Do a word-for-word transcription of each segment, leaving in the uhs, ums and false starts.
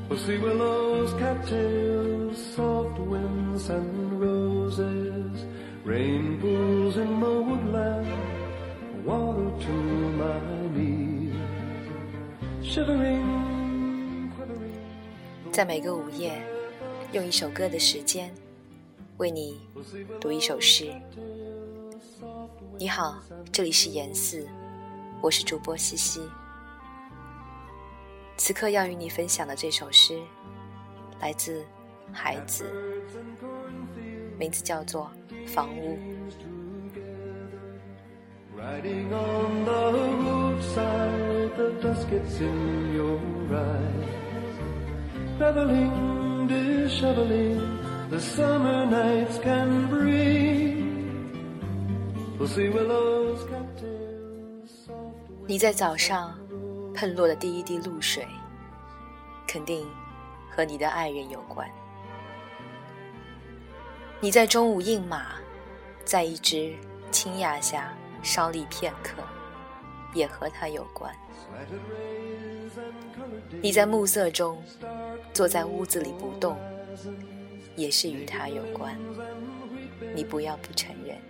Pussy willows, cattails, soft winds and roses, rain pools in my woodland, water to my knees, shivering, quivering. 在每个午夜，用一首歌的时间，为你读一首诗。你好，这里是言四，我是主播西西。此刻要与你分享的这首诗，来自孩子，名字叫做《房屋》。 Riding on the roadside, the dusk gets in your eyes. Reveling, disheveling, the summer nights can bring. Pussy willows, cattails, soft winds. 你在早上喷落的第一滴露水，肯定和你的爱人有关。你在中午饮马，在一只青芽下稍立片刻，也和他有关。你在暮色中坐在屋子里不动，也是与他有关。你不要不承认。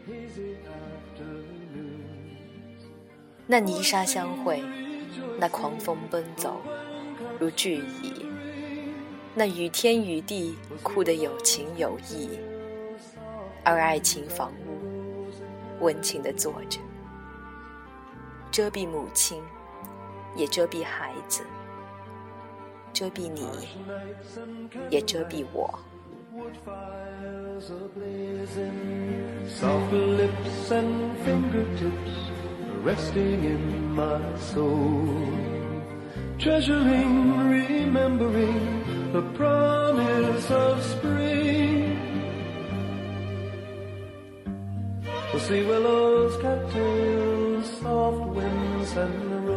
那泥沙相会，那狂风奔走如巨蚁，那雨天雨地哭得有情有义，而爱情房屋温情地坐着，遮蔽母亲，也遮蔽孩子，遮蔽你，也遮蔽我。 Soft lips and fingertips resting in my soul, treasuring, remembering the promise of spring. Pussy willows, cattails, soft winds and